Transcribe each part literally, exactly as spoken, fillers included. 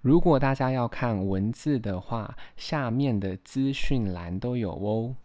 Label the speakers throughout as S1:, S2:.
S1: 如果大家要看文字的話，下面的資訊欄都有哦。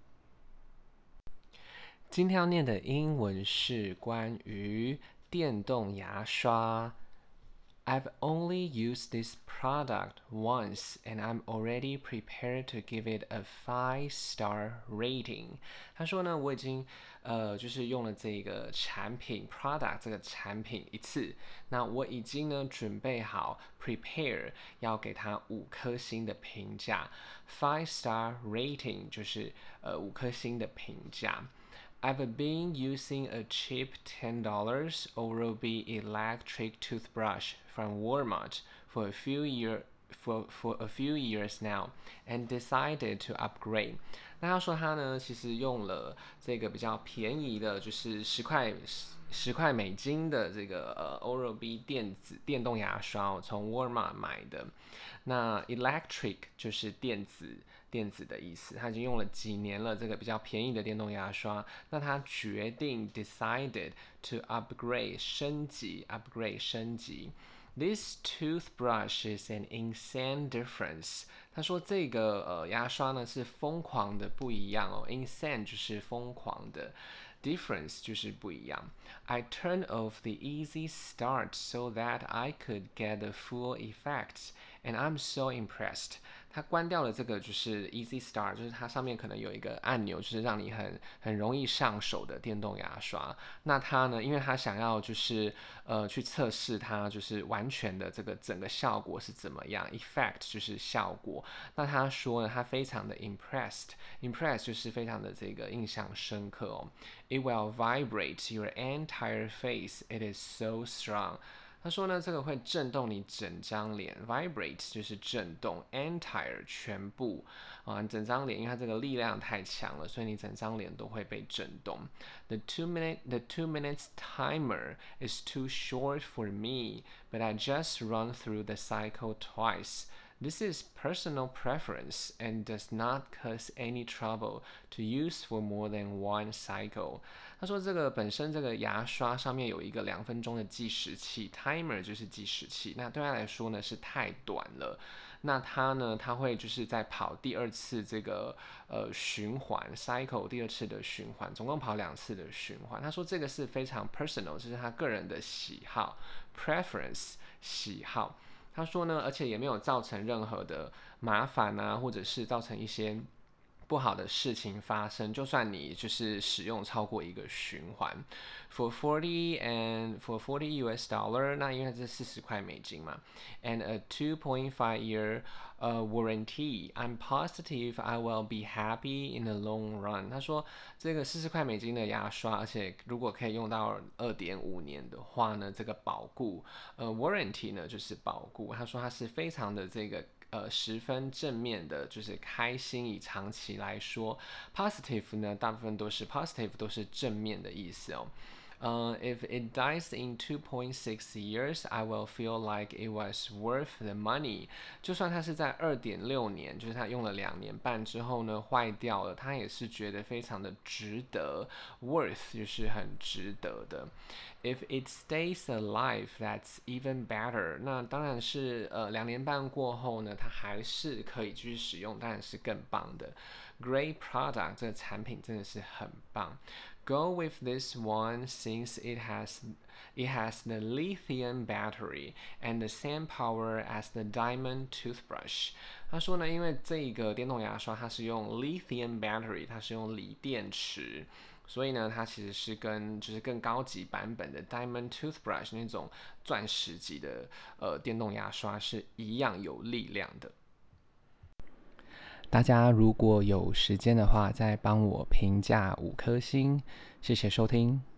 S1: 今天要念的英文是關於電動牙刷。I've only used this product once and I'm already prepared to give it a five star rating. 他說呢，我已經呃就是用了這個產品 product 這個產品一次，那我已經呢準備好 prepare 要給它五顆星的評價 ，five star rating 就是呃五顆星的評價。I've been using a cheap ten dollars Oral-B electric toothbrush from Walmart for a few year for for a few years now and decided to upgrade. 那他說他呢，其實用了這個比較便宜的，就是十塊十塊美金的這個呃 Oral-B 電子電動牙刷，我從 Walmart 買的。那 electric 就是電子電子的意思，他已經用了幾年了，這個比較便宜的電動牙刷。那他決定 decided to upgrade 升級 upgrade 升級。This toothbrush is an insane difference. 他說這個呃牙刷呢是瘋狂的不一樣哦 ，insane 就是瘋狂的 ，difference 就是不一樣。I turned off the easy start so that I could get the full effects, and I'm so impressed. 他關掉了這個就是 easy start， 就是它上面可能有一個按鈕，就是讓你很很容易上手的電動牙刷。那他呢，因為他想要就是呃去測試它就是完全的這個整個效果是怎麼樣 ，effect 就是效果。那他說呢，他非常的 impressed，impressed 就是非常的這個印象深刻哦。It will vibrate your entire face. It is so strong. 他說呢，這個會震動你整張臉 ，vibrate 就是震動 ，entire 全部啊，整張臉，因為它這個力量太強了，所以你整張臉都會被震動。The two minute the two minutes timer is too short for me, but I just run through the cycle twice. This is personal preference and does not cause any trouble to use for more than one cycle. 他說這個本身這個牙刷上面有一個兩分鐘的計時器 ，timer 就是計時器，那對他來說呢是太短了。那他呢，他會就是在跑第二次這個呃循環 cycle 第二次的循環，總共跑兩次的循環。他說這個是非常 personal， 就是他個人的喜好 preference 喜好。他說呢，而且也沒有造成任何的麻煩啊，或者是造成一些不好的事情發生。就算你就是使用超過一個循環 ，for forty and for forty U S dollar， 那因為這四十塊美金嘛 ，and a two point five year 呃、uh, warranty，I'm positive I will be happy in the long run。他說這個四十塊美金的牙刷，而且如果可以用到二點五年的話呢，這個保固呃 warranty 呢就是保固。他說他是非常的這個。呃，十分正面的，就是開心。以長期來說 ，positive 呢，大部分都是 positive，都是正面的意思哦。Uh, if it dies in two point six years, I will feel like it was worth the money. 就算它是在二點六年，就是它用了兩年半之後呢，壞掉了，它也是覺得非常的值得 ，worth 就是很值得的。If it stays alive, that's even better. 那當然是呃兩年半過後呢，它還是可以繼續使用，當然是更棒的。Great product， 這個產品真的是很棒。Go with this one since it has it has the lithium battery and the same power as the diamond toothbrush. 他說呢，因為這個電動牙刷它是用 lithium battery， 它是用鋰電池，所以呢，它其實是跟就是更高級版本的 diamond toothbrush 那種鑽石級的呃電動牙刷是一樣有力量的。大家如果有時間的話，再幫我評價五顆星，謝謝收聽。